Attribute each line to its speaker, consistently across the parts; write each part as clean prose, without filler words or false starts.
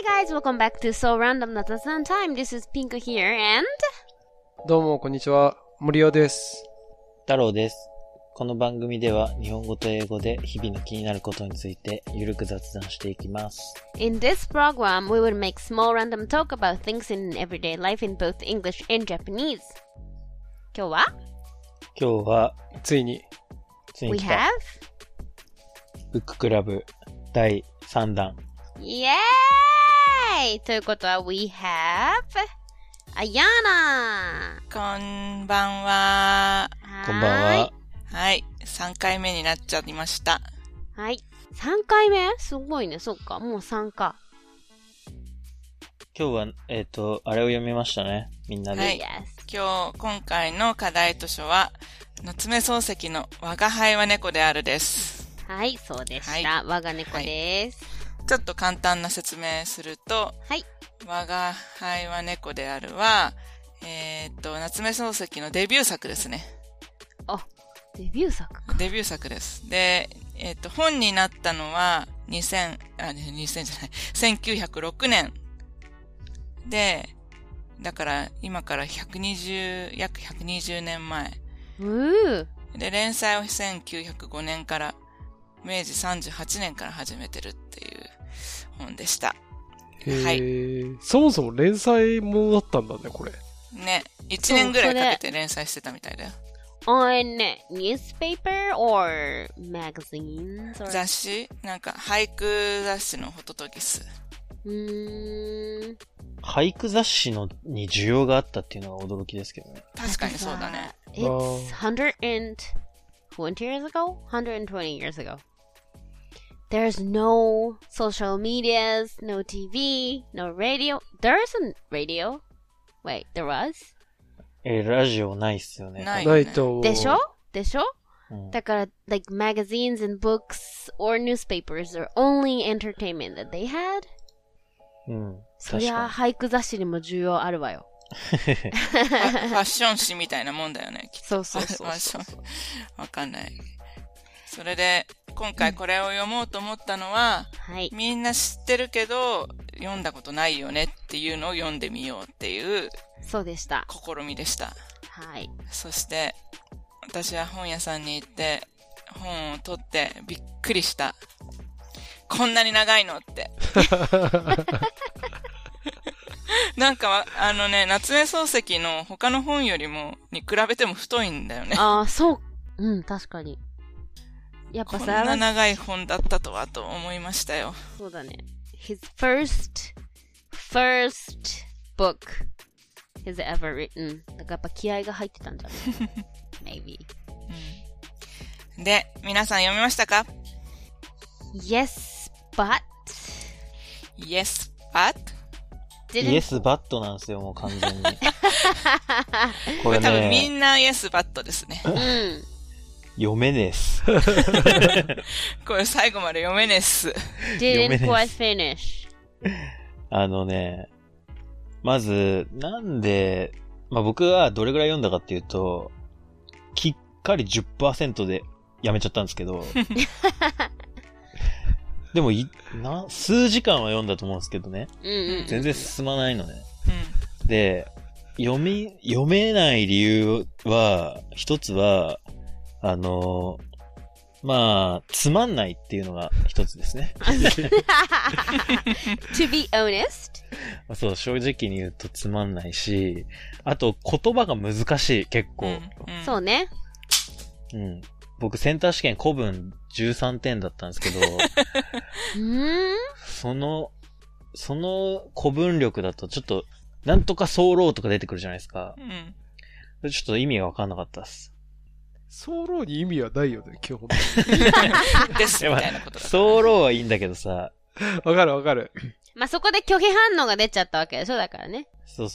Speaker 1: guys, welcome back to So Random Not a Sun Time. This is Pink here and...
Speaker 2: どうもこんにちは、森尾です。
Speaker 3: 太郎です。この番組では日本語と英語で日々の気になることについてゆるく雑談していきます。
Speaker 1: In this program, we will make small random talk about things in everyday life in both English and Japanese. 今日は
Speaker 2: ついに
Speaker 1: We
Speaker 3: 来た
Speaker 1: have
Speaker 3: ブッククラブ第3弾。
Speaker 1: イエーイということは We have Ayana
Speaker 4: こんばんは。
Speaker 3: こんばんは。
Speaker 4: はい。3回目になっちゃいました。
Speaker 1: はい。3回目すごいね。そっか。もう3か。
Speaker 3: 今日は、あれを読みましたね。みんなで。
Speaker 4: はい。今回の課題図書は、夏目漱石の我が輩は猫であるです。
Speaker 1: はい、そうでした。
Speaker 4: はい、
Speaker 1: 我が猫です、
Speaker 4: はい。ちょっと簡単な説明すると、
Speaker 1: はい。
Speaker 4: 我が輩は猫であるは、夏目漱石のデビュー作ですね。
Speaker 1: あ、デビュー作か。
Speaker 4: デビュー作です。で、本になったのは1906年。で、だから今から約120年前。で、連載を1905年から、明治38年から始めてるっていう本でした。はい。
Speaker 2: そもそも連載ものだったんだね、これ。
Speaker 4: ね。1年ぐらいかけて連載してたみたいだよ。
Speaker 1: On newspaper or magazines? Or...
Speaker 4: 雑誌なんか俳句雑誌のホトトギス。
Speaker 3: 俳句雑誌に需要があったっていうのが驚きですけどね。
Speaker 4: 確かにそうだね。
Speaker 1: It's 120 years ago? 120 years ago. There's no social medias, no TV, no radio. There isn't radio. Wait, there was?
Speaker 3: ラジオないっすよね。
Speaker 4: ない
Speaker 2: と。
Speaker 1: でしょ、
Speaker 3: うん、
Speaker 1: だから、like magazines and books or newspapers are only entertainment that they had.
Speaker 3: うん。
Speaker 1: そりゃ俳句雑誌にも需要あるわよ。
Speaker 4: ファッション誌みたいなもんだよね。
Speaker 1: そう。
Speaker 4: わかんない。それで、今回これを読もうと思ったのは、
Speaker 1: はい、
Speaker 4: みんな知ってるけど、読んだことないよねっていうのを読んでみようっていう、
Speaker 1: そうでした。
Speaker 4: 試みでした。
Speaker 1: はい。
Speaker 4: そして、私は本屋さんに行って、本を取ってびっくりした。こんなに長いのって。なんか、夏目漱石の他の本よりも、に比べても太いんだよね。
Speaker 1: ああ、そう。うん、確かに。やっぱさ、
Speaker 4: こんな長い本だったとはと思いましたよ。
Speaker 1: そうだね。His first book he's ever written. だからやっぱ気合が入ってたんじゃない ?Maybe.
Speaker 4: で、皆さん読みましたか？
Speaker 1: Yes, but
Speaker 4: Yes, but?
Speaker 3: イエスバットなんですよ、もう完全に。
Speaker 4: これ多分みんなイエスバットですね。
Speaker 1: うん。
Speaker 3: 読めねえっす。
Speaker 4: これ最後まで読めねえっす。
Speaker 1: Didn't quite finish.
Speaker 3: まず、なんで、僕はどれぐらい読んだかっていうと、きっかり 10% でやめちゃったんですけど、でも数時間は読んだと思うんですけどね。全然進まないのね。で、読めない理由は、一つは、つまんないっていうのが一つですね。
Speaker 1: To be honest?
Speaker 3: そう、正直に言うとつまんないし、あと言葉が難しい、結構。
Speaker 1: そうね。
Speaker 3: うん。僕センター試験古文13点だったんですけど、その古文力だとちょっと、なんとか早漏とか出てくるじゃないですか。ちょっと意味がわかんなかったです。
Speaker 2: 早漏に意味はないよね、基本的
Speaker 4: に。ですみたいなことだ。
Speaker 3: 早漏はいいんだけどさ。
Speaker 2: わかる。
Speaker 1: そこで拒否反応が出ちゃったわけでしょ、だからね。
Speaker 3: そう。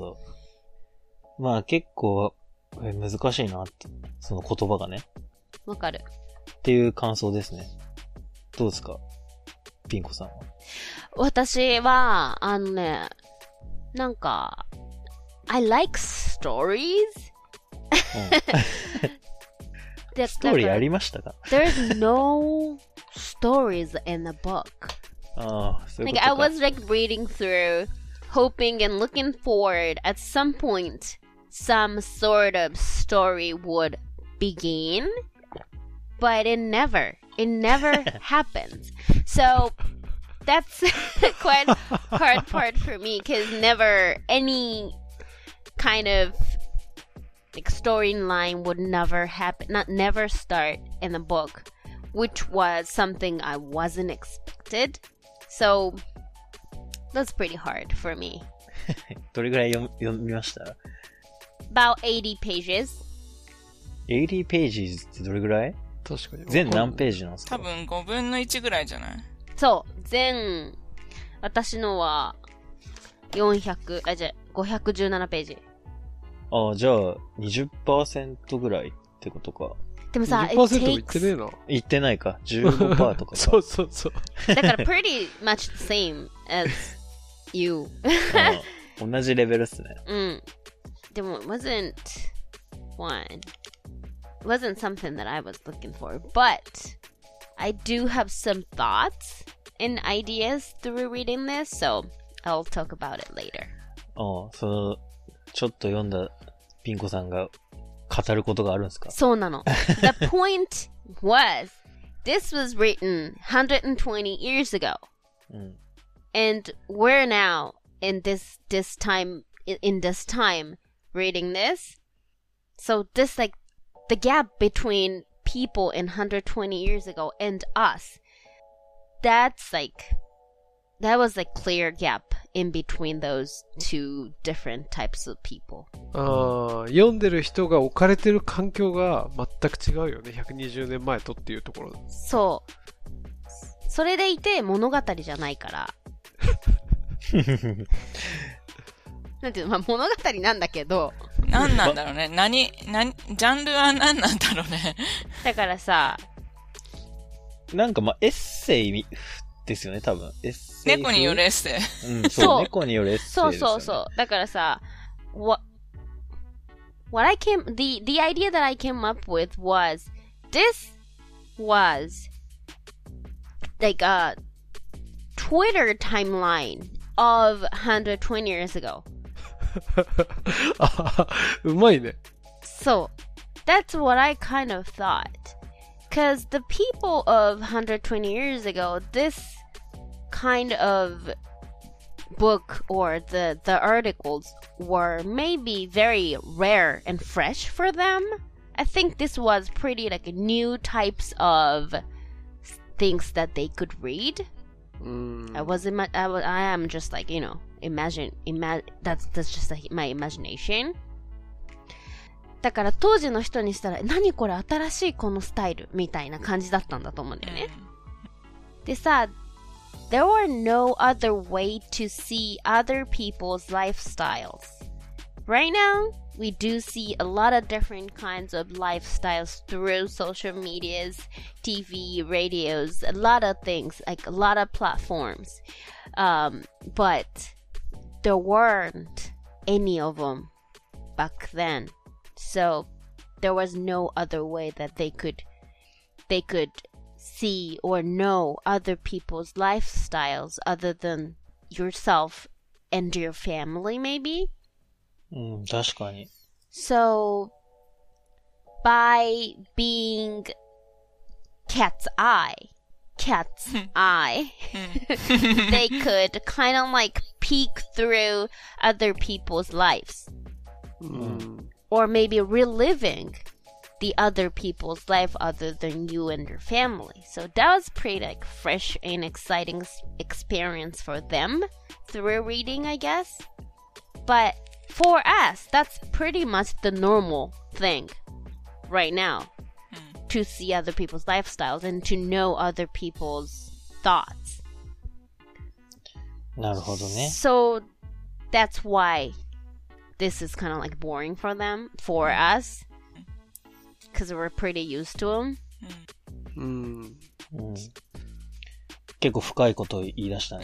Speaker 3: 結構、難しいなって、その言葉がね。
Speaker 1: わかる。
Speaker 3: っていう感想ですね。どうですか？ピンコさんは。
Speaker 1: 私は、なんか、I like stories?
Speaker 3: ストーリーありましたか？
Speaker 1: There's no stories in the book. Like I was like reading through, hoping and looking forward at some point some sort of story would begin, but it never happens. So that's quite hard part for me, because never any kind of like storyline would never start in the book, which was something I wasn't expected. So that's pretty hard for me.
Speaker 3: どれぐらい読みました？
Speaker 1: About 80 pages.
Speaker 3: 80 pages ってどれぐらい？
Speaker 2: 確かに。
Speaker 3: 全何ページなんですか？
Speaker 4: 多分5分の1ぐらいじゃない？
Speaker 1: そう、私のは517ページ。
Speaker 3: じゃあ 20% ぐらいってことか。
Speaker 1: でもさ、
Speaker 2: 20% も言ってねえな。
Speaker 3: 言ってないか。15% とかか。
Speaker 2: そうそうそう。
Speaker 1: だから pretty much the same as you.
Speaker 3: 同じレベルっすね。
Speaker 1: うん。でも it wasn't something that I was looking for, but I do have some thoughts and ideas through reading this, so I'll talk about it later.
Speaker 3: ちょっと読んだピンコさんが語ることがあるんですか？
Speaker 1: そうなの。The point was, this was written 120 years ago. And we're now in this time reading this. So this like the gap between people in 120 years ago and us, that was like clear gap in between those two different types of people.
Speaker 2: 読んでる人が置かれてる環境が全く違うよね。120年前とっていうところ。
Speaker 1: そう。それでいて物語じゃないから。なんていうの、まあ、物語なんだけど。
Speaker 4: 何なんだろうね。ジャンルは何なんだろうね。
Speaker 1: だからさ。
Speaker 3: なんかまあ、エッセイですよね、多分。エッセイ。
Speaker 4: 猫によるエッセイ。
Speaker 3: うん、そう、猫によるエッセイですよね。
Speaker 1: そう。だからさ、the idea that I came up with was, this was like a Twitter timeline of 120 years ago.
Speaker 2: うまいね。
Speaker 1: So, that's what I kind of thought. Because the people of 120 years ago, this kind of book or the articles were maybe very rare and fresh for them. I think this was pretty like new types of things that they could read. I am just like, you know, that's just like my imagination. だから当時の人にしたら、何これ新しいこのスタイルみたいな感じだったんだと思うんだよね。でさ、there were no other way to see other people's lifestyles. Right now, we do see a lot of different kinds of lifestyles through social medias, TV, radios, a lot of things, like a lot of platforms. But there weren't any of them back then. So there was no other way that they could see or know other people's lifestyles other than yourself and your family, maybe.
Speaker 3: 確かに。
Speaker 1: So by being cat's eye, they could kind of like peek through other people's lives. Or maybe reliving the other people's life other than you and your family. So that was pretty like fresh and exciting experience for them through reading, I guess. But for us, that's pretty much the normal thing right now. To see other people's lifestyles and to know other people's thoughts.
Speaker 3: なるほどね。
Speaker 1: So that's why this is kind of like boring for them, for us, because we're pretty used to them.
Speaker 3: 結構深いことを言い出したね。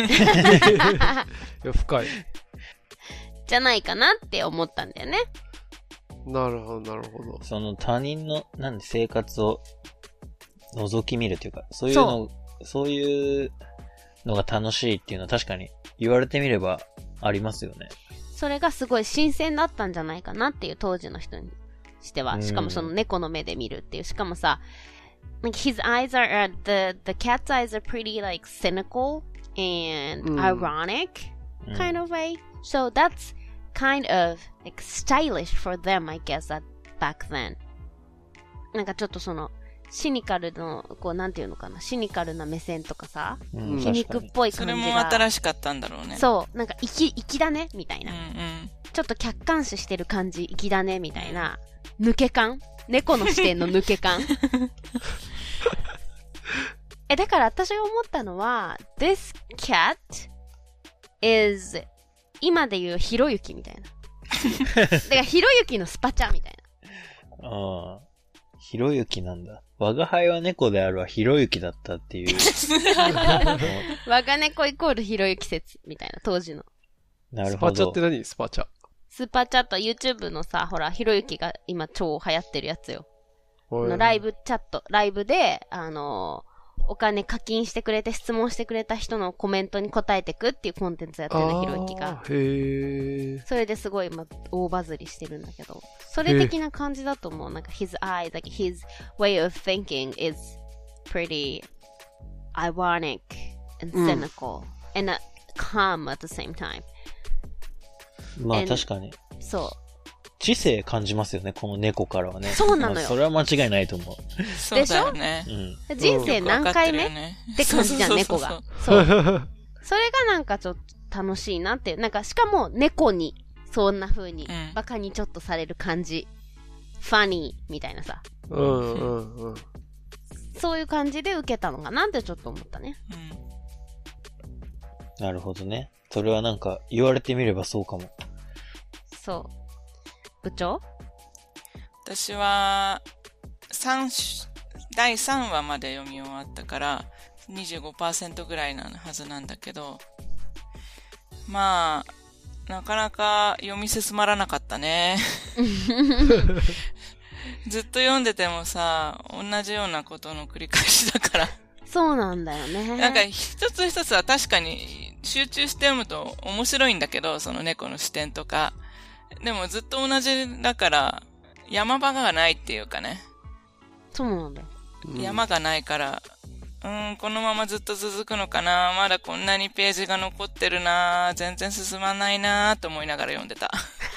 Speaker 2: いや、深い。
Speaker 1: じゃないかなって思ったんだよね。
Speaker 2: なるほど、なるほど。
Speaker 3: その他人の生活を覗き見るというか、そういうのが楽しいっていうのは確かに言われてみればありますよね。
Speaker 1: それがすごい新鮮だったんじゃないかなっていう当時の人にしては。しかもその猫の目で見るっていう。しかもさ、like his eyes are, the cat's eyes are pretty like cynical and ironic kind of way. So that's kind of like stylish for them, I guess, back then. なんかちょっとその、シニカルの、こう、なんていうのかな、シニカルな目線とかさ、皮肉っぽい感じが。
Speaker 4: それも新しかったんだろうね。
Speaker 1: そう、なんか粋だね、みたいな。ちょっと客観視してる感じ、粋だね、みたいな。抜け感、猫の視点の抜け感。だから私が思ったのは、this cat is 今で言うひろゆきみたいな。だからひろゆきのスパチャみたい
Speaker 3: な。ああ。ひろゆきなんだ。我が輩は猫であるはひろゆきだったっていう。
Speaker 1: 我が猫イコールひろゆき説みたいな、当時の。
Speaker 3: なるほど。
Speaker 2: スパチャって何？スパチャ。
Speaker 1: スパチャと YouTube のさ、ほら、ひろゆきが今超流行ってるやつよ。ライブチャット、ライブで、お金課金してくれて質問してくれた人のコメントに答えてくっていうコンテンツやってるの、ひろゆきが。
Speaker 2: へー。
Speaker 1: それですごい今、大バズりしてるんだけど。それ的な感じだと思う。なんか his eyes, like his way of thinking is pretty ironic and cynical、and calm at the same time.
Speaker 3: まあ確かに。
Speaker 1: そう。
Speaker 3: 知性感じますよね、この猫からはね。
Speaker 1: そうなのよ。
Speaker 3: それは間違いないと思う。
Speaker 4: そうだよね。
Speaker 1: 人生何回目、って感じじゃん、猫が。そう。それがなんかちょっと楽しいなっていう。なんかしかも猫に、そんな風に、バカにちょっとされる感じ。ファニーみたいなさ。そういう感じで受けたのかなってちょっと思ったね。
Speaker 3: なるほどね。それはなんか言われてみればそうかも。
Speaker 1: そう。部長？
Speaker 4: 私は、第3話まで読み終わったから、25% ぐらいなはずなんだけど、まあ、なかなか読み進まらなかったね。ずっと読んでてもさ、同じようなことの繰り返しだから。
Speaker 1: そうなんだよね。
Speaker 4: なんか一つ一つは確かに集中して読むと面白いんだけど、その猫の視点とか。でもずっと同じだから、山場がないっていうかね。
Speaker 1: そうなんだよ。
Speaker 4: 山がないから、このままずっと続くのかな、まだこんなにページが残ってるな、全然進まないなと思いながら読んでた。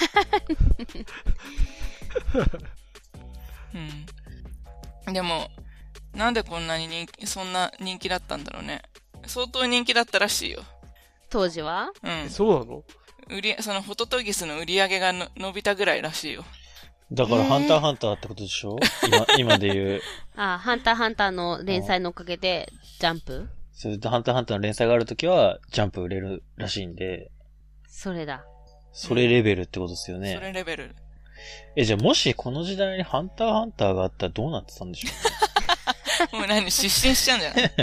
Speaker 4: でも、なんでこんなにそんな人気だったんだろうね。相当人気だったらしいよ。
Speaker 1: 当時は？
Speaker 2: そうなの？
Speaker 4: そのホトトギスの売り上げが伸びたぐらいらしいよ。
Speaker 3: だからハンターハンターってことでしょ？今で言う。
Speaker 1: あ、ハンターハンターの連載のおかげで、ジャンプ？
Speaker 3: それでハンターハンターの連載があるときは、ジャンプ売れるらしいんで。
Speaker 1: それだ。
Speaker 3: それレベルってことですよね。
Speaker 4: それレベル。
Speaker 3: じゃあもしこの時代にハンターハンターがあったらどうなってたんでしょう？
Speaker 4: もう失神しちゃうんじゃない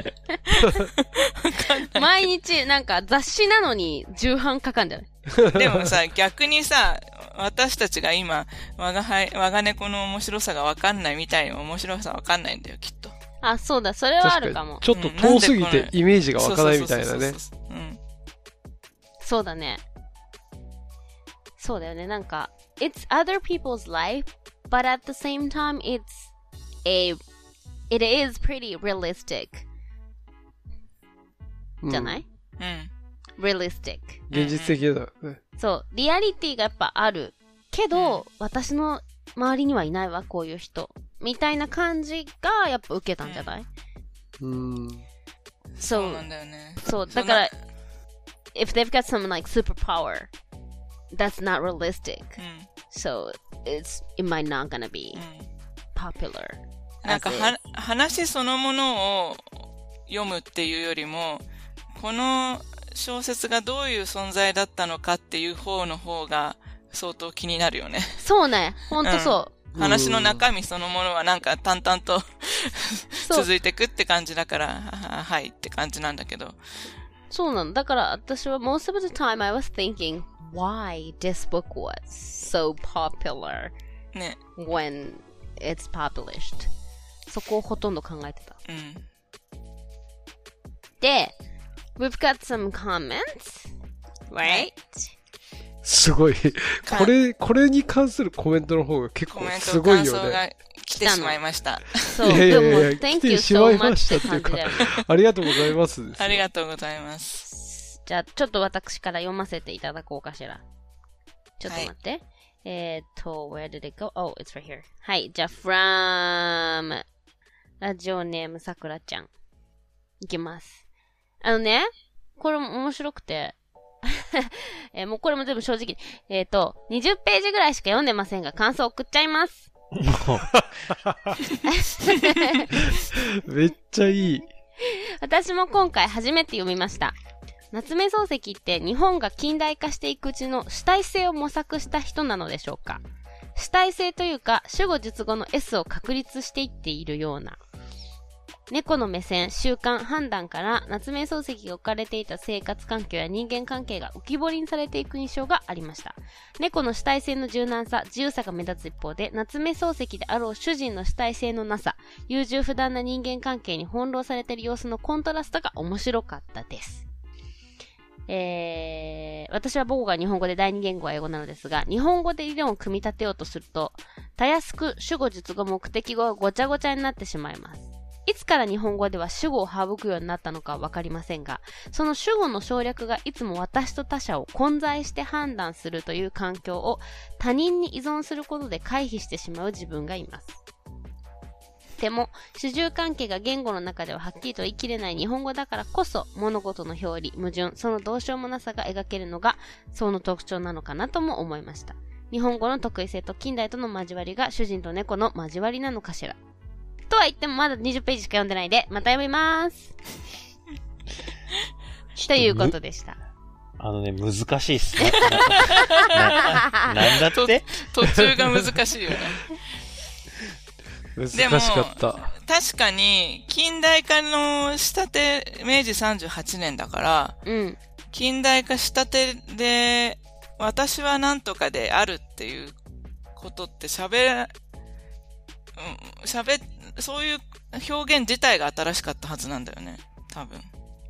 Speaker 1: 毎日なんか雑誌なのに重版かかんじゃない
Speaker 4: でもさ、逆にさ、私たちが今、我が猫の面白さがわかんないみたいに面白さわかんないんだよ、きっと。
Speaker 1: あ、そうだ、それはあるかも。
Speaker 2: ちょっと遠すぎてイメージがわかないみたいなね。
Speaker 1: そうだね。そうだよね、なんか、it's other people's life, but at the same time, it is pretty realistic. じゃない？realistic。
Speaker 2: 現実的だよね。
Speaker 1: そう、リアリティがやっぱある。けど、私の周りにはいないわ、こういう人。みたいな感じがやっぱ受けたんじゃない？
Speaker 4: そうなんだよね。
Speaker 1: そう、だから、if they've got some like superpower, that's not realistic. So, it might not gonna be popular.
Speaker 4: なんか話そのものを読むっていうよりも、この小説がどういう存在だったのかっていう方が相当気になるよね。
Speaker 1: そうね。ほんとそう。
Speaker 4: 話の中身そのものはなんか淡々と続いてくって感じだから、はいって感じなんだけど。
Speaker 1: そうなの。だから私は most of the time I was thinking why this book was so popular
Speaker 4: ね。
Speaker 1: when it's published. そこをほとんど考えてた。で、 We've got some comments, right?
Speaker 2: すごい。これに関するコメントの方が結構すごいよね。
Speaker 4: コメント感想が来てしまいました。
Speaker 1: そう、でも、Thank you so much
Speaker 2: って感じだよね。ありがとうございます。
Speaker 4: ありがとうございます。
Speaker 1: じゃあ、ちょっと私から読ませていただこうかしら。ちょっと待って。where did it go? Oh, it's right here. はい、じゃあ、from ラジオネームさくらちゃん。いきます。これも面白くて、もうこれも全部正直。20ページぐらいしか読んでませんが、感想送っちゃいます。
Speaker 2: めっちゃいい。
Speaker 1: 私も今回初めて読みました。夏目漱石って日本が近代化していくうちの主体性を模索した人なのでしょうか。主体性というか、主語述語の S を確立していっているような。猫の目線、習慣、判断から夏目漱石が置かれていた生活環境や人間関係が浮き彫りにされていく印象がありました。猫の主体性の柔軟さ、自由さが目立つ一方で、夏目漱石であろう主人の主体性のなさ、優柔不断な人間関係に翻弄されている様子のコントラストが面白かったです。私は母語が日本語で第二言語は英語なのですが、日本語で理論を組み立てようとすると、たやすく主語、述語、目的語がごちゃごちゃになってしまいます。いつから日本語では主語を省くようになったのかわかりませんが、その主語の省略がいつも私と他者を混在して判断するという環境を他人に依存することで回避してしまう自分がいます。でも、主従関係が言語の中でははっきりと言い切れない日本語だからこそ、物事の表裏、矛盾、そのどうしようもなさが描けるのが、その特徴なのかなとも思いました。日本語の得意性と近代との交わりが主人と猫の交わりなのかしら。とは言ってもまだ20ページしか読んでないで、また読みます。ということでした。
Speaker 3: 難しいっすね。なんだって
Speaker 4: 途中が難しいよね。
Speaker 2: 難しかった。
Speaker 4: 確かに、近代化のしたて、明治38年だから、近代化したてで、私はなんとかであるっていうことってそういう表現自体が新しかったはずなんだよね、多分。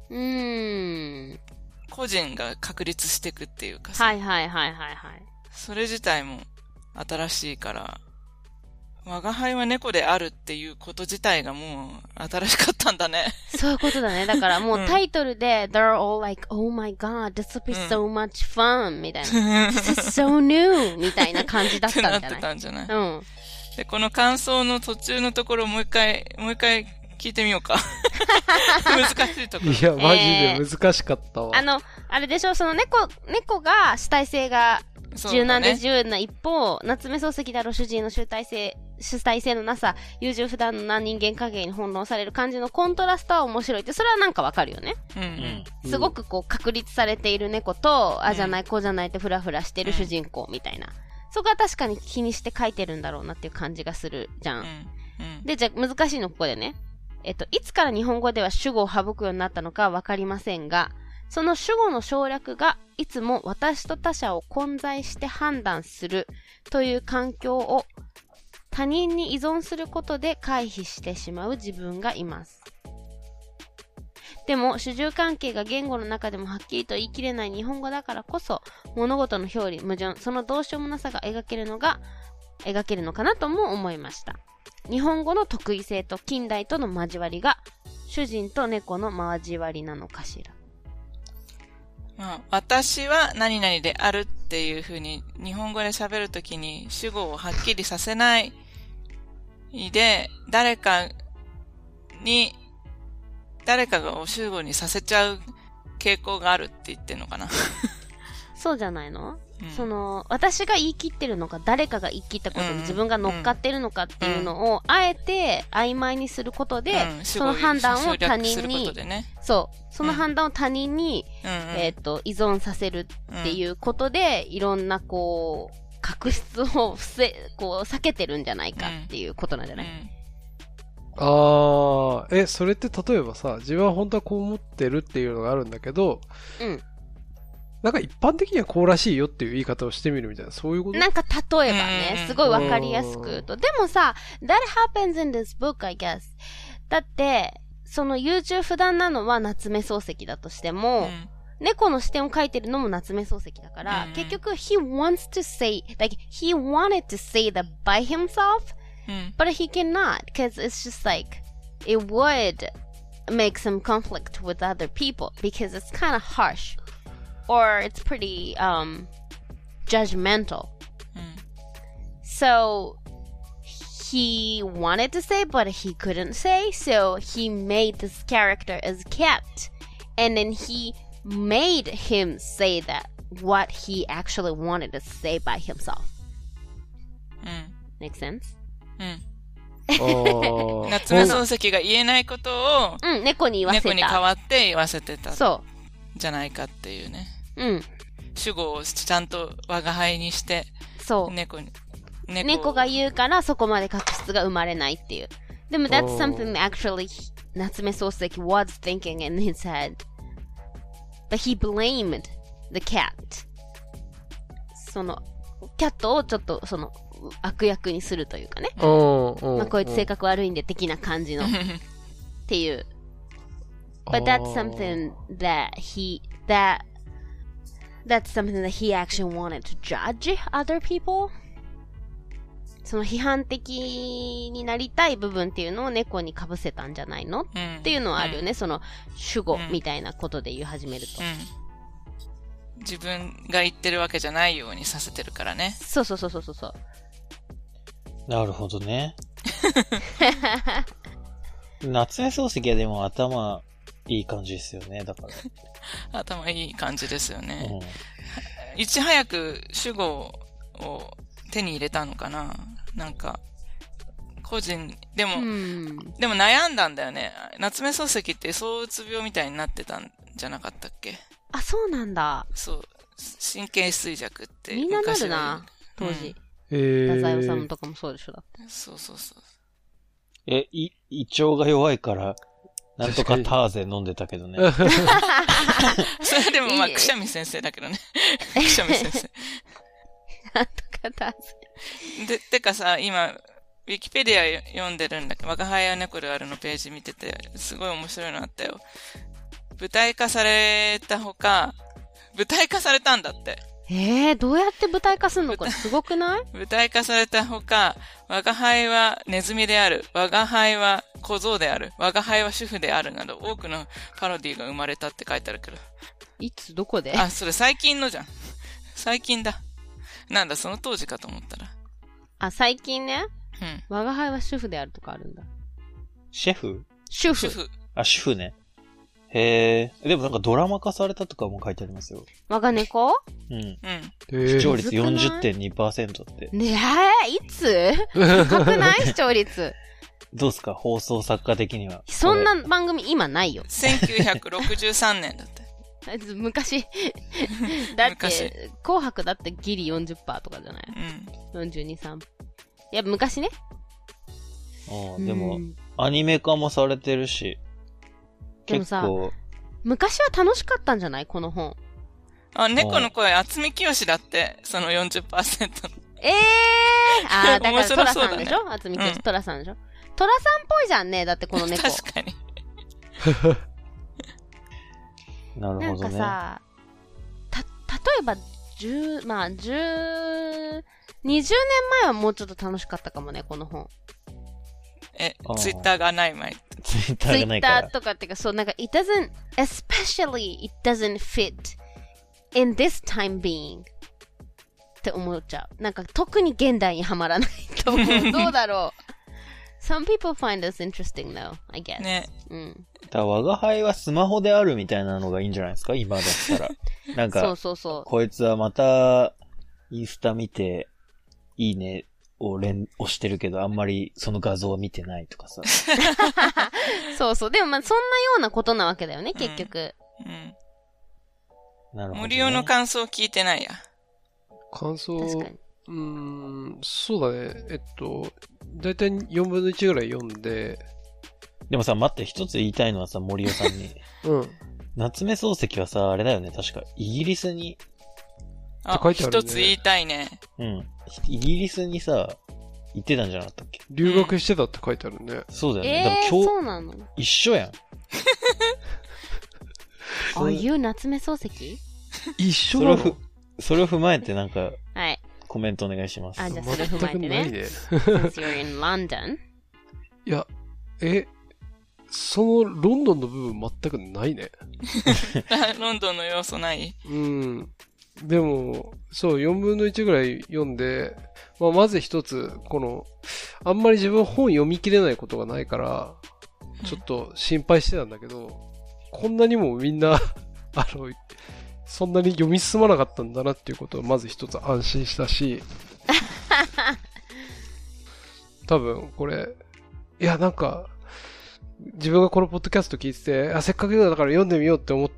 Speaker 4: 個人が確立していくっていうかさ。
Speaker 1: はいはいはいはいはい。
Speaker 4: それ自体も新しいから、我が輩は猫であるっていうこと自体がもう新しかったんだね。
Speaker 1: そういうことだね。だからもうタイトルで、They're all like, oh my god, this will be so much fun みたいな。This is so new みたいな感じだったんじゃない？
Speaker 4: なってたんじゃない？で、この感想の途中のところをもう一回聞いてみようか。難しいところ。
Speaker 2: いや、マジで難しかったわ。
Speaker 1: あれでしょ、その猫が主体性が柔軟で自由な一方、夏目漱石である主人の主体性のなさ、優柔不断な人間関係に翻弄される感じのコントラストは面白いって、それはなんかわかるよね。すごくこう確立されている猫と、あじゃないこうじゃないってフラフラしてる主人公みたいな。そこは確かに気にして書いてるんだろうなっていう感じがするじゃん。で、じゃあ難しいのここでね。いつから日本語では主語を省くようになったのかわかりませんが、その主語の省略がいつも私と他者を混在して判断するという環境を他人に依存することで回避してしまう自分がいます。でも主従関係が言語の中でもはっきりと言い切れない日本語だからこそ、物事の表裏矛盾、そのどうしようもなさが描けるのかなとも思いました。日本語の特異性と近代との交わりが主人と猫の交わりなのかしら。
Speaker 4: 私は何々であるっていう風に日本語で喋るときに主語をはっきりさせないで、誰かが主語にさせちゃう傾向があるって言ってんのかな。
Speaker 1: そうじゃないの？私が言い切ってるのか、誰かが言い切ったことに自分が乗っかってるのかっていうのを、あえて曖昧にすることで、その判断を他人に、その判断を他人に、依存させるっていうことで、いろんな確執を避けてるんじゃないかっていうことなんじゃない？
Speaker 2: それって例えばさ、自分は本当はこう思ってるっていうのがあるんだけど、なんか一般的にはこうらしいよっていう言い方をしてみるみたいな、そういうこと？
Speaker 1: なんか例えばね、すごいわかりやすく言うと。でもさ、that happens in this book, I guess. だって、 その優柔不断なのは夏目漱石だとしても、猫の視点を描いてるのも夏目漱石だから、結局 he wants to say, like he wanted to say that by himself, but he cannot, because it's just like, it would make some conflict with other people, because it's kind of harsh, or it's pretty, judgmental. So, he wanted to say, but he couldn't say, so he made this character as cat, and then he made him say that what he actually wanted to say by himself. Make sense?
Speaker 4: 夏目漱石が言えないことを、
Speaker 1: 猫に言わせた。
Speaker 4: 猫に代わって言わせてた。
Speaker 1: そう。
Speaker 4: じゃないかっていうね。主語をちゃんと我が輩にして、
Speaker 1: そう。猫が言うからそこまで確執が生まれないっていう。でも that's something actually 夏目漱石 was thinking in his head.But he blamed the cat. その、キャットをちょっとその、悪役にするというかね。まあ、こいつ性格悪いんで的な感じの。っていう。But that's something that that's something that he actually wanted to judge other people. その批判的になりたい部分っていうのを猫に被せたんじゃないの、っていうのはあるよね。その主語みたいなことで言い始めると、
Speaker 4: 自分が言ってるわけじゃないようにさせてるからね。
Speaker 1: そう。
Speaker 3: なるほどね。夏目漱石はでも頭いい感じですよね。だから。
Speaker 4: 頭いい感じですよね。いち早く主語を手に入れたのかな。なんか個人でも悩んだんだよね。夏目漱石って躁うつ病みたいになってたんじゃなかったっけ？
Speaker 1: あ、そうなんだ。
Speaker 4: そう、神経衰弱って
Speaker 1: みんななるな当時。太宰治とかもそうでしょだって。
Speaker 4: そう。
Speaker 3: 胃腸が弱いからなんとかターゼ飲んでたけどね。
Speaker 4: それでもまあくしゃみ先生だけどね。くしゃみ先生。
Speaker 1: なんとかター
Speaker 4: ゼ。てかさ、今ウィキペディア読んでるんだけど、我が輩は猫であるのページ見ててすごい面白いのあったよ。舞台化されたほか、舞台化されたんだって。
Speaker 1: どうやって舞台化すんのかすごくない？
Speaker 4: 舞台化されたほか、我が輩はネズミである、我が輩は小僧である、我が輩は主婦であるなど多くのパロディが生まれたって書いてあるけど。
Speaker 1: いつどこで？
Speaker 4: あ、それ最近のじゃん。最近だ。なんだ、その当時かと思ったら。
Speaker 1: あ、最近ね。我が輩は主婦であるとかあるんだ。
Speaker 3: シェフ？
Speaker 1: 主婦。
Speaker 3: あ、主婦ね。へえ。でもなんかドラマ化されたとかも書いてありますよ。
Speaker 1: 我が猫？
Speaker 3: 視聴率 40.2% って。
Speaker 1: ねえ、いつ？高くない視聴率。
Speaker 3: どうすか放送作家的には。
Speaker 1: そんな番組今ないよ。
Speaker 4: 1963年だって。
Speaker 1: 昔。だって、紅白だってギリ 40% とかじゃない？ 42、3%。いや、昔ね。
Speaker 3: でも、アニメ化もされてるし。
Speaker 1: でもさ、昔は楽しかったんじゃないこの本。
Speaker 4: あ、猫の声、渥美清だって、その 40%。
Speaker 1: だからトラさんでしょ渥美清、トラさんでしょトラさんっぽいじゃんね、だってこの猫。
Speaker 4: 確かに。
Speaker 3: なるほどね。
Speaker 1: なんかさ、例えば、20年前はもうちょっと楽しかったかもね、この本。
Speaker 4: ツイッターがない前。
Speaker 3: ツイッターがないから。
Speaker 1: ツイッターとかっていうか、そう、なんか、especially it doesn't fit in this time being って思っちゃう。なんか、特に現代にはまらないと思う。どうだろう。Some people find this interesting though, I guess.
Speaker 4: ね。
Speaker 3: 我が輩はスマホであるみたいなのがいいんじゃないですか今だったら。なんか、
Speaker 1: そう。こ
Speaker 3: いつはまた、インスタ見て、いいねを押してるけど、あんまりその画像を見てないとかさ。
Speaker 1: そう。でもまあ、そんなようなことなわけだよね、結局。
Speaker 3: なるほど、ね。
Speaker 4: 森尾の感想聞いてないや。
Speaker 2: 感想、
Speaker 1: 確かに。
Speaker 2: そうだね。だいたい4分の1ぐらい読んで。
Speaker 3: でもさ、待って、一つ言いたいのはさ、森尾さんに。夏目漱石はさ、あれだよね、確か、イギリスに。
Speaker 4: 一つ言いたいね。
Speaker 3: イギリスにさ、 行ってたんじゃなかったっけ？
Speaker 2: 留学してたって書いてあるね。
Speaker 3: そうだよね。だから今日、
Speaker 1: そうなの？
Speaker 3: 一緒やん。
Speaker 1: Are you 夏目漱石？
Speaker 2: 一緒なの？
Speaker 3: それを踏まえてなんか、
Speaker 1: はい。
Speaker 3: コメントお願いします。
Speaker 1: あ、じゃあそれ踏まえてね。
Speaker 2: 全くないね。
Speaker 1: Since you're in London?
Speaker 2: いや、そのロンドンの部分全くないね。
Speaker 4: ロンドンの要素ない？
Speaker 2: うん。でも、そう、4分の1ぐらい読んで、まず一つ、あんまり自分本読み切れないことがないから、ちょっと心配してたんだけど、こんなにもみんな、そんなに読み進まなかったんだなっていうことをまず一つ安心したし、多分これ、いやなんか、自分がこのポッドキャスト聞いてて、せっかくだから読んでみようって思って、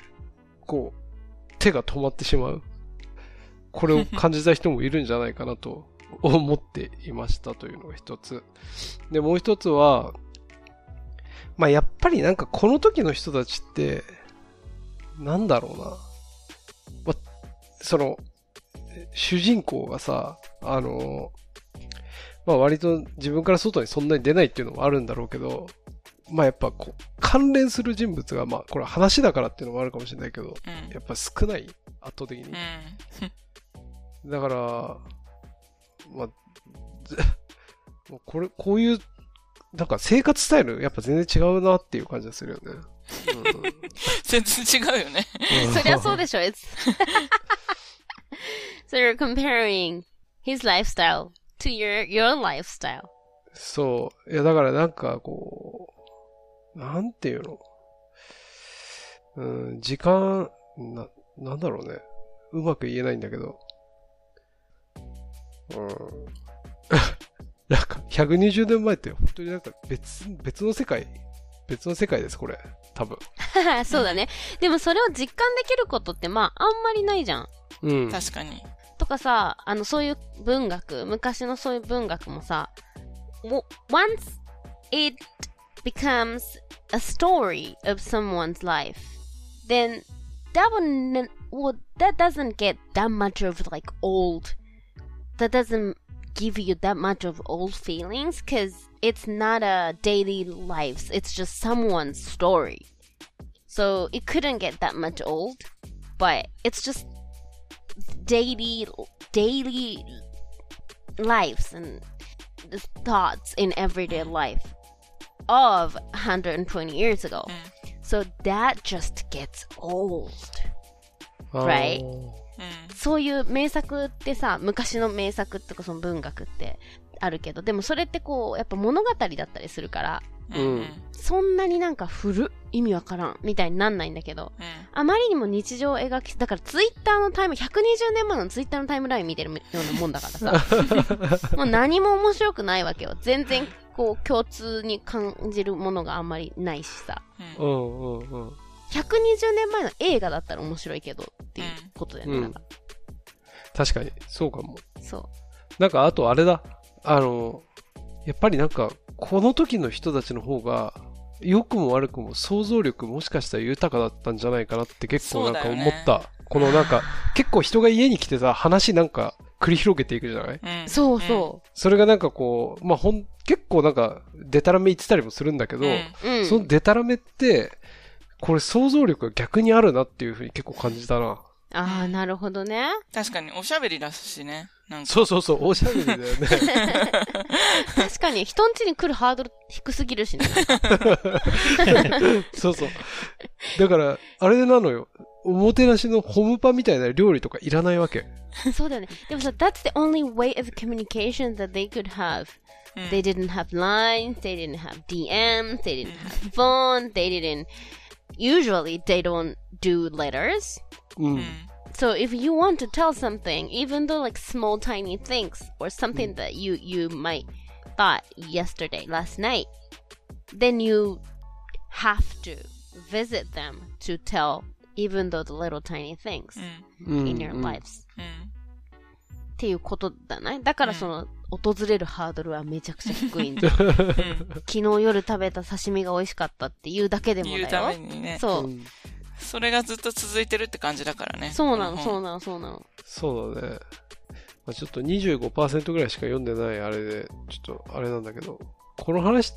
Speaker 2: こう、手が止まってしまう。これを感じた人もいるんじゃないかなと思っていましたというのが一つ。で、もう一つは、やっぱりなんかこの時の人たちって、なんだろうな。主人公がさ、割と自分から外にそんなに出ないっていうのもあるんだろうけど、やっぱ関連する人物が、これ話だからっていうのもあるかもしれないけど、やっぱ少ない、圧倒的に。だから、もうこういう、なんか生活スタイル、やっぱ全然違うなっていう感じがするよね。
Speaker 4: 全然違うよね。
Speaker 1: そりゃそうでしょ。So you're comparing his lifestyle to your lifestyle.
Speaker 2: そう。いや、だからなんかなんていうの？時間、なんだろうね。うまく言えないんだけど。なんか、120年前って本当になんか別の世界です、これ。多分。
Speaker 1: そうだね。でもそれを実感できることってあんまりないじゃん。
Speaker 2: うん。
Speaker 4: 確かに。
Speaker 1: とかさ、そういう文学、昔のそういう文学もさ、once it becomes a story of someone's life, then that doesn't get that much of that doesn't give you that much of old feelings because it's not a daily life, it's just someone's story. So it couldn't get that much old, but it's just daily lives and the thoughts in everyday life of 120 years ago. So that just gets old. Right? そういう名作ってさ、昔の名作ってかその文学ってあるけど、でもそれってやっぱ物語だったりするから、そんなになんか意味わからんみたいになんないんだけど、あまりにも日常を描き、だからツイッターの120年前のツイッターのタイムライン見てるようなもんだからさ、もう何も面白くないわけよ。全然共通に感じるものがあんまりないしさ。120年前の映画だったら面白いけどっていうことだよね。
Speaker 2: 確かに、そうかも。
Speaker 1: そう。
Speaker 2: なんかあとあれだ。やっぱりなんか、この時の人たちの方が、良くも悪くも想像力もしかしたら豊かだったんじゃないかなって結構なんか思った。このなんか、結構人が家に来てさ、話なんか繰り広げていくじゃない？
Speaker 1: そうそう。
Speaker 2: それがなんか結構なんか、デタラメ言ってたりもするんだけど、そのデタラメって、これ想像力が逆にあるなっていうふうに結構感じたな。
Speaker 1: ああ、なるほどね。
Speaker 4: 確かに、おしゃべりだしね。なんか
Speaker 2: そう、おしゃべりだよね。
Speaker 1: 確かに、人ん家に来るハードル低すぎるしね。
Speaker 2: そう。だから、あれなのよ。おもてなしのホムパみたいな料理とかいらないわけ。
Speaker 1: そうだよね。でもさ、that's the only way of communication that they could have. They didn't have lines, they didn't have DMs, they didn't have phone, usually they don't do letters. So if you want to tell something, even though like small tiny things or something that you might thought last night, then you have to visit them to tell even though the little tiny things in your lives. っていうことだね。だからその訪れるハードルはめちゃくちゃ低いんだ。昨日夜食べた刺身が美味しかったっていうだけでもだよ。
Speaker 4: 言うためにね。
Speaker 1: そう。
Speaker 4: それがずっと続いてるって感じだからね。
Speaker 1: そうなの。
Speaker 2: そうだね。 ちょっと 25% ぐらいしか読んでないあれで、ちょっとあれなんだけど、この話って、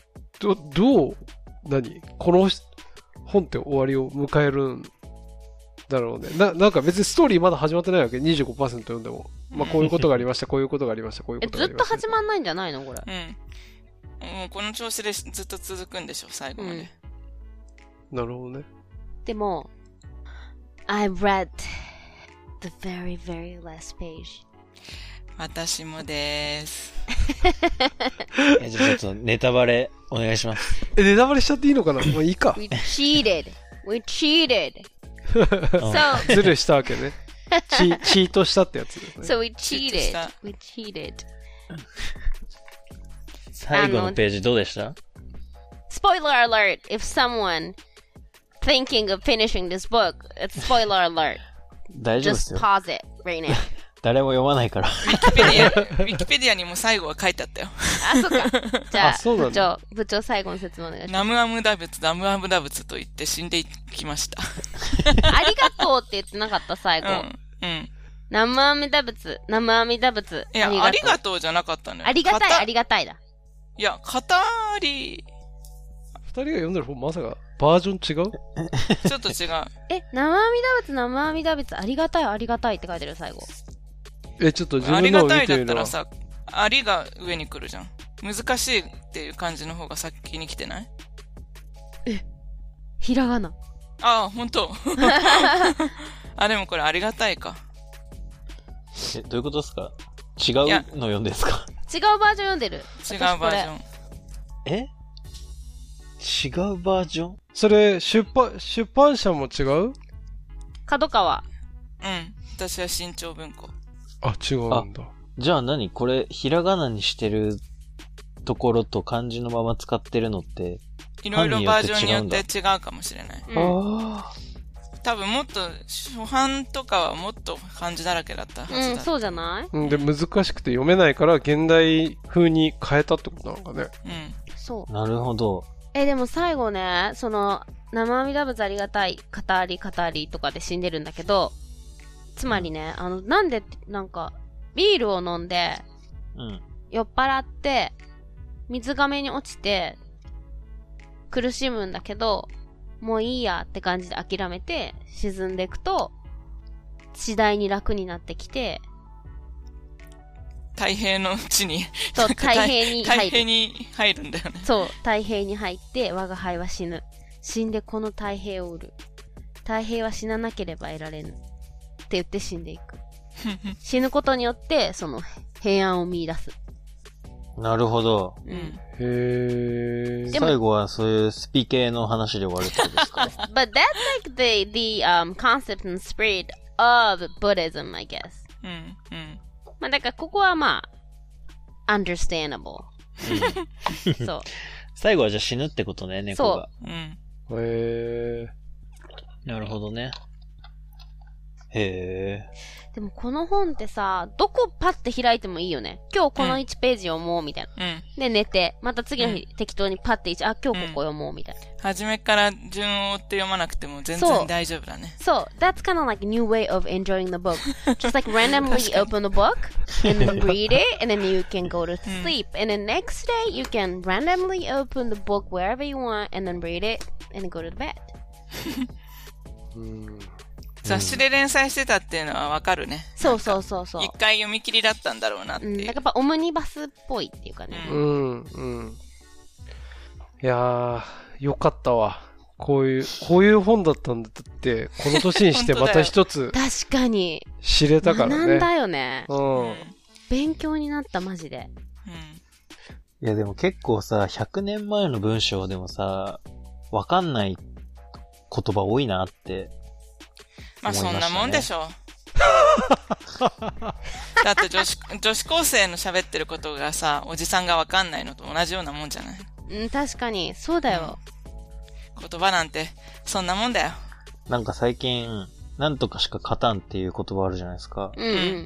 Speaker 2: 何この本って終わりを迎えるんだろうね。なんか別にストーリーまだ始まってないわけ。25% 読んでも。まあこういうことがありました、こういうことがありました、こういうことがありました。
Speaker 1: ずっと始まんないんじゃないのこれ。
Speaker 4: もうこの調子でずっと続くんでしょ、最後まで。
Speaker 2: なるほどね。
Speaker 1: でも、I read the very, very last page.
Speaker 4: 私もです。
Speaker 3: じゃあちょっとネタバレお願いします。
Speaker 2: ネタバレしちゃっていいのかな？もういいか。
Speaker 1: We cheated. We cheated.
Speaker 2: ズルしたわけね。チートしたってやつですね。
Speaker 1: So we cheated. We cheated.
Speaker 3: 最後のページどうでした？
Speaker 1: Spoiler alert! If someone thinking of finishing this book, it's spoiler alert.
Speaker 3: 大丈夫ですよ。
Speaker 1: Just pause it right now.
Speaker 3: 誰も読まないから。
Speaker 4: ウィキペディアにも最後は書いてあったよ。
Speaker 1: あ、そっか。じゃあ、部長最後の説明お願いします。
Speaker 4: ナムアムダ仏、ナムアムダ仏と言って死んでいきました。
Speaker 1: ありがとうって言ってなかった最後。ナムアミダ仏、ナムアミダ仏。
Speaker 4: いや、ありがとうじゃなかったのよ。
Speaker 1: ありがたい、ありがたいだ。
Speaker 4: いや、語り。
Speaker 2: 二人が読んでる本まさかバージョン違う？
Speaker 4: ちょっと違う。
Speaker 1: ナムアミダ仏、ナムアミダ仏、ありがたい、ありがたいって書いてる最後。
Speaker 2: ちょっと自分のを見てみるわ。
Speaker 4: ありがたいだったらさ、ありが上に来るじゃん。難しいっていう感じの方が先に来てない？
Speaker 1: ひらがな。
Speaker 4: ああ、ほんと。あ、でもこれありがたいか。
Speaker 3: どういうことですか？違うの読んでですか？
Speaker 1: 違うバージョン読んでる。
Speaker 4: 違うバージョン。
Speaker 3: 違うバージョン？
Speaker 2: それ、出版社も違う？
Speaker 1: 角川。
Speaker 4: 私は新潮文庫。
Speaker 2: あ、違うんだ。
Speaker 3: じゃあ何これ、ひらがなにしてるところと漢字のまま使ってるのって、
Speaker 4: いろいろバージョンによって違うかもしれない。多分もっと、初版とかはもっと漢字だらけだったはずだ。
Speaker 1: そうじゃない？
Speaker 2: で、難しくて読めないから、現代風に変えたってことなのかね。
Speaker 1: そう。
Speaker 3: なるほど。
Speaker 1: でも最後ね、その、生阿弥陀仏ありがたい、語りとかで死んでるんだけど、つまりね、なんで、なんか、ビールを飲んで、酔っ払って、水がめに落ちて、苦しむんだけど、もういいやって感じで諦めて、沈んでいくと、次第に楽になってきて、
Speaker 4: 太平のうちに。
Speaker 1: そう、太平に入る。
Speaker 4: 太平に入るんだよね。
Speaker 1: そう、太平に入って、我が輩は死ぬ。死んでこの太平を売る。太平は死ななければ得られぬ。って言って死んでいく。死ぬことによって、その、平安を見出す。
Speaker 3: なるほど。
Speaker 2: へー。
Speaker 3: 最後はそういうスピ系の話で終わるってことですか？
Speaker 1: But that's like the concept and spirit of Buddhism, I guess. まあだからここはまあ、understandable. そう。
Speaker 3: 最後はじゃあ死ぬってことね、猫が。
Speaker 2: そう。へ
Speaker 3: ー。なるほどね。へー。
Speaker 1: でもこの本ってさ、どこパッて開いてもいいよね。今日この1ページ読もうみたいな。で寝て、また次の日適当にパッて今日ここ読もうみたいな。
Speaker 4: 初めから順を追って読まなくても全然大丈夫だね。
Speaker 1: そう。That's kind of like a new way of enjoying the book. Just like randomly open the book and then read it and then you can go to sleep. And then next day you can randomly open the book wherever you want and then read it and then go to bed.
Speaker 4: 雑誌で連載してたっていうのはわかるね。
Speaker 1: そう。
Speaker 4: 一回読み切りだったんだろうなっていう。
Speaker 1: なんかやっぱオムニバスっぽいっていうかね。
Speaker 2: いやー、よかったわ。こういう本だったんだって、この年にしてまた一つ。
Speaker 1: 確かに。
Speaker 2: 知れたからね。
Speaker 1: 学んだよね。勉強になった、マジで。
Speaker 3: いやでも結構さ、100年前の文章でもさ、わかんない言葉多いなって。
Speaker 4: まあそんなもんでしょ。だって女子高生の喋ってることがさ、おじさんがわかんないのと同じようなもんじゃない？
Speaker 1: 確かに、そうだよ。
Speaker 4: 言葉なんて、そんなもんだよ。
Speaker 3: なんか最近、なんとかしか勝たんっていう言葉あるじゃないですか。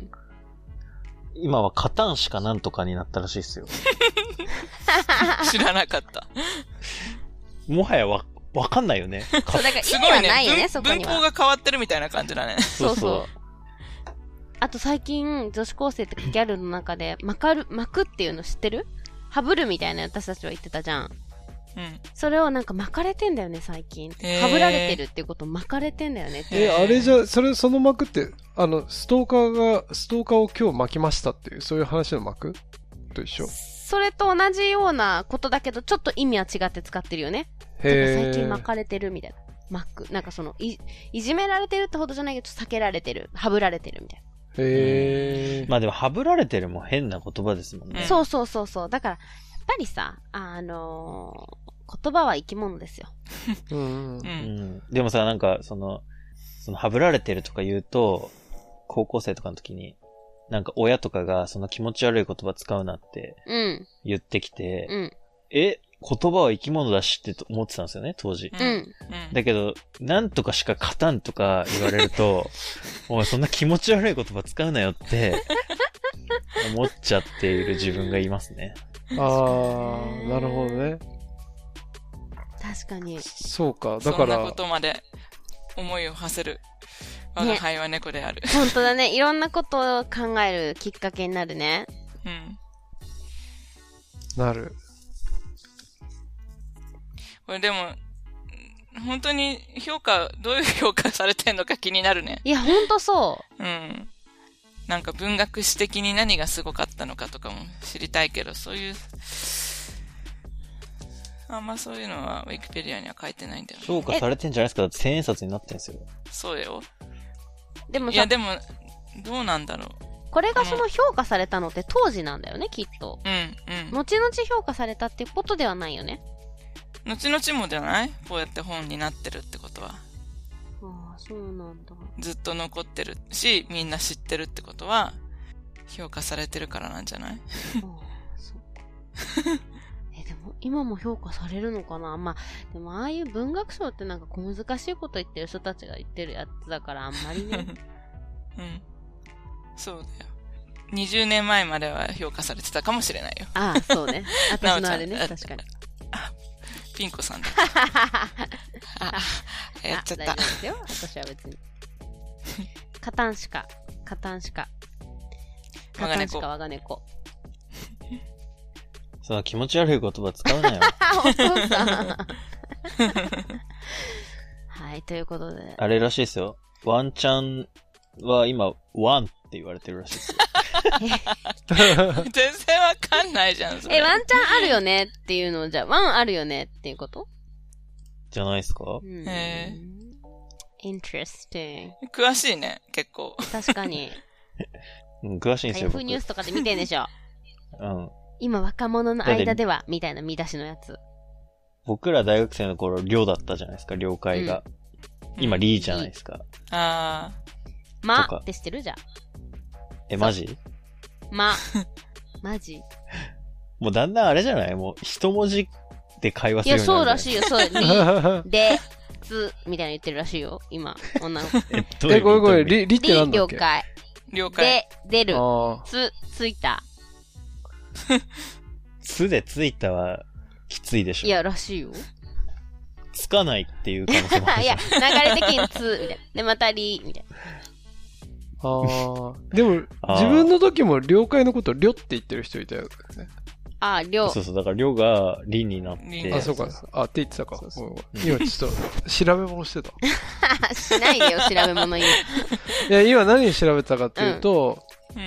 Speaker 3: 今は勝たんしかなんとかになったらしいですよ。
Speaker 4: 知らなかった。
Speaker 3: もはやわかんないよね。
Speaker 1: そう、だから意味はないよね、そこには。
Speaker 4: 文法が変わってるみたいな感じだね。
Speaker 1: そう。 あと最近、女子高生とかギャルの中で、巻くっていうの知ってる？ハブるみたいな私たちは言ってたじゃん。
Speaker 4: うん。
Speaker 1: それをなんか巻かれてんだよね、最近。ハブられてるっていうこと巻かれてんだよね。
Speaker 2: あれじゃ、その巻くって、ストーカーを今日巻きましたっていう、そういう話の巻くと一緒？
Speaker 1: それと同じようなことだけど、ちょっと意味は違って使ってるよね。最近巻かれてるみたいな。巻く。なんかいじめられてるってほどじゃないけど、避けられてる。ハブられてるみたいな。
Speaker 3: まあでも、ハブられてるも変な言葉ですもんね。
Speaker 1: そう。だから、やっぱりさ、言葉は生き物ですよ。
Speaker 3: でもさ、なんか、ハブられてるとか言うと、高校生とかの時に、なんか親とかがその気持ち悪い言葉使うなって言ってきて、言葉は生き物だしって思ってたんですよね、当時。だけど、なんとかしか勝たんとか言われると、おい、そんな気持ち悪い言葉使うなよって思っちゃっている自分がいますね。
Speaker 2: なるほどね。
Speaker 1: 確かに。
Speaker 2: そうか、だから。
Speaker 4: そんなことまで思いを馳せる。我が輩は猫である。
Speaker 1: 本当だね。いろんなことを考えるきっかけになるね。
Speaker 2: なる。
Speaker 4: これでも、本当にどういう評価されてんのか気になるね。
Speaker 1: いや、ほんとそう。
Speaker 4: なんか文学史的に何がすごかったのかとかも知りたいけど、そういう、あんまそういうのはウィキペディアには書いてないんだよね。
Speaker 3: 評価されてんじゃないですか？だって1000円札になってんすよ。
Speaker 4: そうよ。
Speaker 1: でもさ、
Speaker 4: いやでも、どうなんだろう。
Speaker 1: これがその評価されたのって当時なんだよね、きっと。後々評価されたっていうことではないよね。
Speaker 4: 後々もじゃない？こうやって本になってるってことは。
Speaker 1: ああ、そうなんだ。
Speaker 4: ずっと残ってるし、みんな知ってるってことは、評価されてるからなんじゃない？ああ、
Speaker 1: そうか。でも、今も評価されるのかな？まあ、でもああいう文学賞ってなんか小難しいこと言ってる人たちが言ってるやつだからあんまりね。
Speaker 4: そうだよ。20年前までは評価されてたかもしれないよ。
Speaker 1: ああ、そうね。私のあれね、確かに。
Speaker 4: ピンコさんだ。やっちゃった。
Speaker 1: 大丈夫ですよ、私は別に。カタンシカ。我が猫。
Speaker 3: その気持ち悪い言葉使うなよ。
Speaker 1: お父さん。はい、ということで。
Speaker 3: あれらしいですよ。ワンちゃんは今、ワンって言われてるらしいですよ。
Speaker 4: 全然わかんないじゃん、それ。
Speaker 1: ワンチャンあるよねっていうのを、じゃあ、ワンあるよねっていうこと
Speaker 3: じゃないですか？
Speaker 1: interesting。
Speaker 4: 詳しいね、結構。
Speaker 1: 確かに。
Speaker 3: 詳しいんですよ。
Speaker 1: Yahoo ニュースとかで見てんでしょ。
Speaker 3: うん。
Speaker 1: 今若者の間では、みたいな見出しのやつ。
Speaker 3: 僕ら大学生の頃、寮だったじゃないですか、寮会が。今、リーじゃないですか。
Speaker 4: あ
Speaker 1: ー。まって知ってる？じゃあ。
Speaker 3: マジ？
Speaker 1: マジ？
Speaker 3: もうだんだんあれじゃない？もう一文字で会話するようになる。
Speaker 1: いや、そうらしいよ。そう、リ、で、つ、みたいな言ってるらしいよ。今、女の子。
Speaker 2: ごめん、リってなんだっけ？
Speaker 4: 了解。
Speaker 1: で、出る。ついた。
Speaker 3: つでついたは、きついでしょ。
Speaker 1: いや、らしいよ。
Speaker 3: つかないっていう可能性もある。
Speaker 1: いや、流れ的につ、みたいな。で、またり、みたいな。
Speaker 2: でも、自分の時も了解のこと、りょって言ってる人いたよね。
Speaker 1: りょ。
Speaker 3: そう、だからりょがりになって。
Speaker 2: そうか。って言ってたか。今ちょっと、調べ物してた。
Speaker 1: しないでよ、調べ物今。い
Speaker 2: や、今何調べてたかっていうと、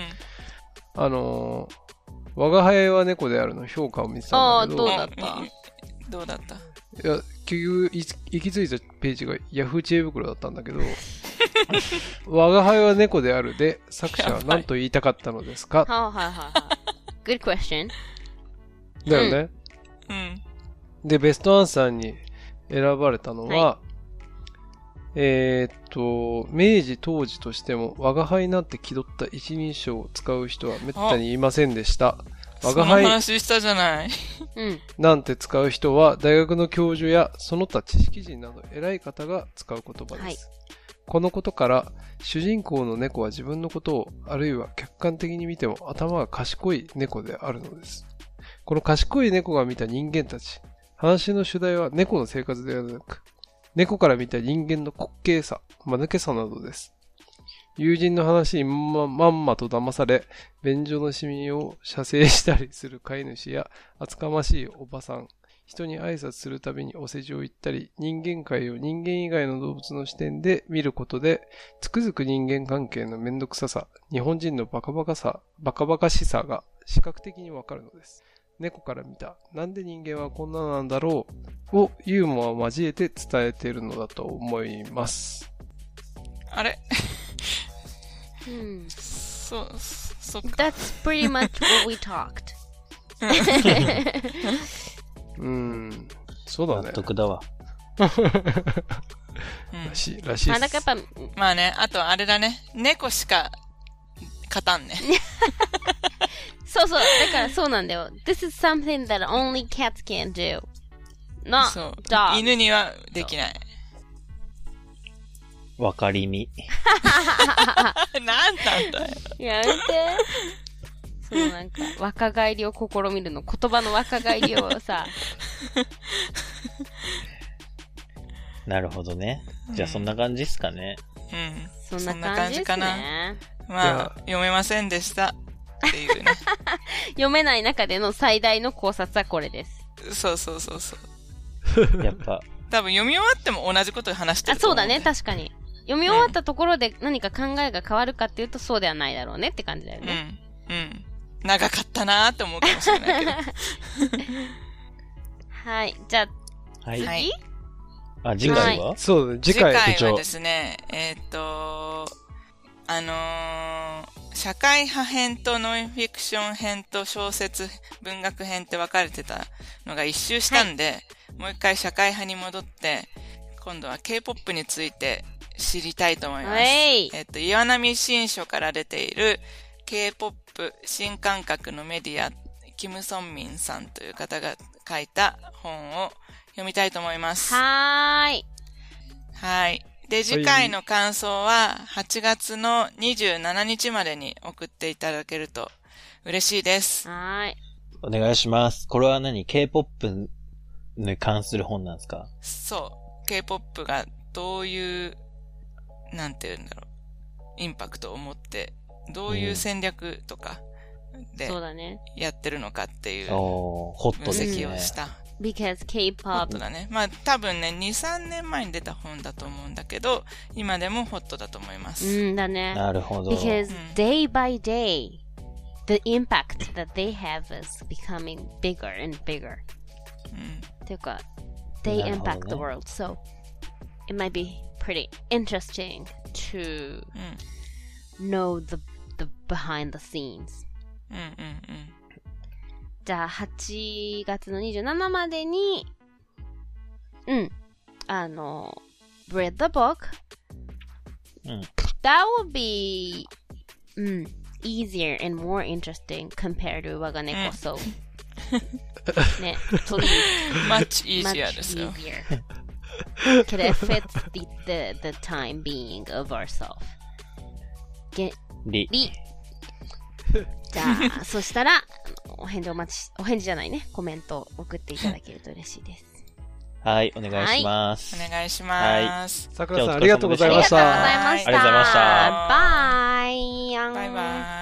Speaker 2: 我が輩は猫であるの評価を見てたんだけど。
Speaker 4: どうだった？
Speaker 2: いや、結局、行き着いたページがヤフー知恵袋だったんだけど、我が輩は猫であるで、作者は何と言いたかったのですか？
Speaker 1: Good question.
Speaker 2: だよね。で、ベストアンサーに選ばれたのは、明治当時としても、我が輩なんて気取った一人称を使う人は滅多にいませんでした。
Speaker 4: 我が輩。その話したじゃない。
Speaker 2: なんて使う人は、大学の教授やその他知識人など偉い方が使う言葉です。このことから、主人公の猫は自分のことを、あるいは客観的に見ても頭が賢い猫であるのです。この賢い猫が見た人間たち、話の主題は猫の生活ではなく、猫から見た人間の滑稽さ、間抜けさなどです。 友人の話にまんまと騙され、便所のシミを射精したりする飼い主や、厚かましいおばさん、人に挨拶するたびにお世辞を言ったり、人間界を人間以外の動物の視点で見ることで、つくづく人間関係のめんどくささ、日本人のバカバカしさが視覚的にわかるのです。猫から見た、なんで人間はこんななんだろうをユーモアを交えて伝えているのだと思います。
Speaker 4: あれそっか。
Speaker 1: That's pretty much what we talked.
Speaker 2: そうだね。
Speaker 3: 納得だわ。
Speaker 2: らしいです。
Speaker 1: だからやっぱ、
Speaker 4: まあね、あとあれだね。猫しか勝たんね。
Speaker 1: そうそう。だからそうなんだよ。This is something that only cats can do. Not dogs.
Speaker 4: 犬にはできない。
Speaker 3: わかりみ。
Speaker 4: なんなんだよ。
Speaker 1: やめて。そうなんか、若返りを試みるの。言葉の若返りをさ。
Speaker 3: なるほどね。じゃあそんな感じっすかね。
Speaker 1: そんな感じかな。
Speaker 4: まあ、読めませんでした。っていうね。
Speaker 1: 読めない中での最大の考察はこれです。
Speaker 4: そう。
Speaker 3: やっぱ。
Speaker 4: 多分読み終わっても同じことを話してると
Speaker 1: そうだね、確かに。読み終わったところで何か考えが変わるかっていうとそうではないだろうねって感じだよね。
Speaker 4: 長かったなーって思うかもしれないけど。
Speaker 1: はい。じゃあ、次？
Speaker 3: 次回は？
Speaker 2: そうだね、
Speaker 4: 次回はですね、社会派編とノンフィクション編と小説文学編って分かれてたのが一周したんで、もう一回社会派に戻って、今度は K-POP について知りたいと思います。岩波新書から出ている K-POP 新感覚のメディア、キム・ソンミンさんという方が書いた本を読みたいと思います。
Speaker 1: はい。
Speaker 4: で、次回の感想は8月の27日までに送っていただけると嬉しいです。
Speaker 1: はい。
Speaker 3: お願いします。これは何？ K-POP に関する本なんですか？
Speaker 4: そう。K-POP がどういう、なんて言うんだろう。インパクトを持って、どういう戦略とかでやってるのかっていう分析をした。
Speaker 1: Because K-POP
Speaker 4: ホットだね。まあ多分ね、2、3年前に出た本だと思うんだけど、今でもホットだと思います。
Speaker 1: だね。
Speaker 3: なるほど。
Speaker 1: Because day by day, the impact that they have is becoming bigger and bigger. っていうか、they impact the world. So, it might be pretty interesting to know the behind the scenes. じゃあ、8月の27までに、read the book. That will be, easier and more interesting compared to 我が猫 so. ね、please.
Speaker 4: Much easier ですよ。
Speaker 1: Because it fits the time being of ourselves. じゃあ、そしたら、お返事じゃないね、コメントを送っていただけると嬉しいです。
Speaker 3: はい、お願いします。
Speaker 4: お願いします。
Speaker 2: さくらさん、ありがとうございました。
Speaker 1: ありがとうございました。
Speaker 3: ありがとうございました。
Speaker 1: バイ。
Speaker 4: バイバイ。